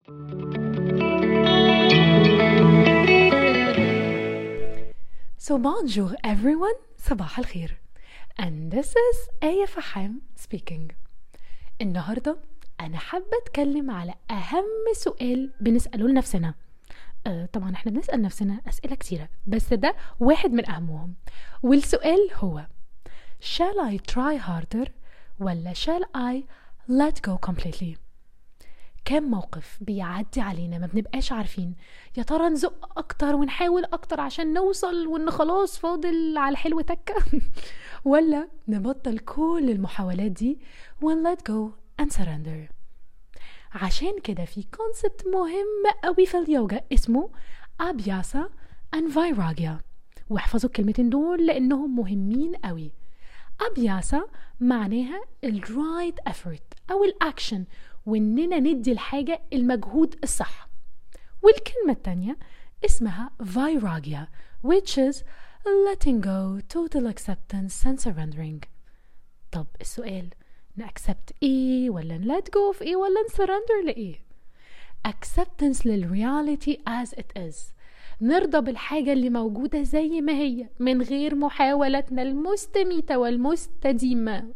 So bonjour everyone, صباح الخير. And this is آية فحام speaking. النهاردة أنا حابة أتكلم على أهم سؤال بنسأله لنفسنا. طبعا احنا بنسأل نفسنا أسئلة كتيرة، بس ده واحد من أهمهم. والسؤال هو Shall I try harder ولا shall I let go completely؟ كم موقف بيعدي علينا ما بنبقاش عارفين يا ترى نزق اكتر ونحاول اكتر عشان نوصل وان خلاص فاضل على الحلو تكة ولا نبطل كل المحاولات دي و let go and surrender. عشان كده في كونسبت مهم قوي في اليوجا اسمه أبياسا and فايراجيا، واحفظوا الكلمتين دول لانهم مهمين قوي. أبياسا معناها الرايت effort او الاكشن، واننا ندي الحاجة المجهود الصح. والكلمة التانية اسمها فايراجيا which is letting go, total acceptance and surrendering. طب السؤال، نأكسبت ايه ولا let go في ايه ولا نسرندر لإيه؟ acceptance للreality as it is، نرضى بالحاجة اللي موجودة زي ما هي من غير محاولاتنا المستميتة والمستديمة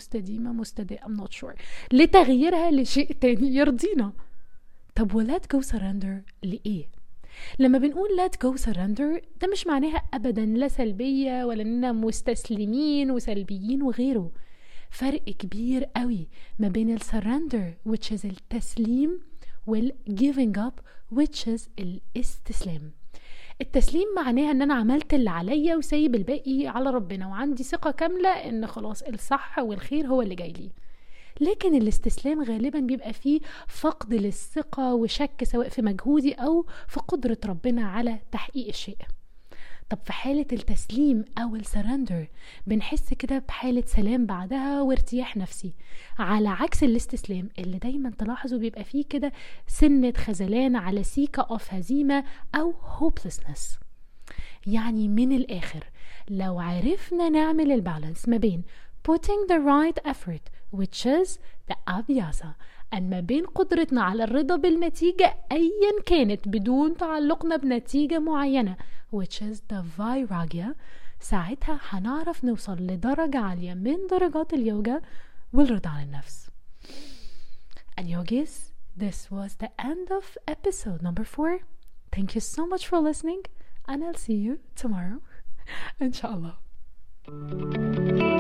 I'm not sure لتغييرها لشيء تاني يرضينا. طب و let go surrender لإيه؟ لما بنقول let go surrender ده مش معناها أبدا لا سلبية ولا إننا مستسلمين وسلبيين وغيره. فرق كبير قوي ما بين surrender which is التسليم وال giving up which is الاستسلام. التسليم معناها ان انا عملت اللي عليا وسايب الباقي على ربنا وعندي ثقة كاملة ان خلاص الصح والخير هو اللي جاي لي. لكن الاستسلام غالبا بيبقى فيه فقد للثقة وشك سواء في مجهودي او في قدرة ربنا على تحقيق الشيء. طب في حالة التسليم او السرندر بنحس كده بحالة سلام بعدها وارتياح نفسي، على عكس الاستسلام اللي دايما تلاحظوا بيبقى فيه كده سنة خذلان على سيكة اوف هزيمة او hopelessness. يعني من الاخر لو عرفنا نعمل البالانس ما بين putting the right effort which is the abhyasa ما بين قدرتنا على الرضا بالنتيجة أيا كانت بدون تعلقنا بنتيجة معينة which is the vairagya، ساعتها هنعرف نوصل لدرجة عالية من درجات اليوجا والرضا عن النفس. And yogis, this was the end of episode number 4. Thank you so much for listening and I'll see you tomorrow. Inshallah.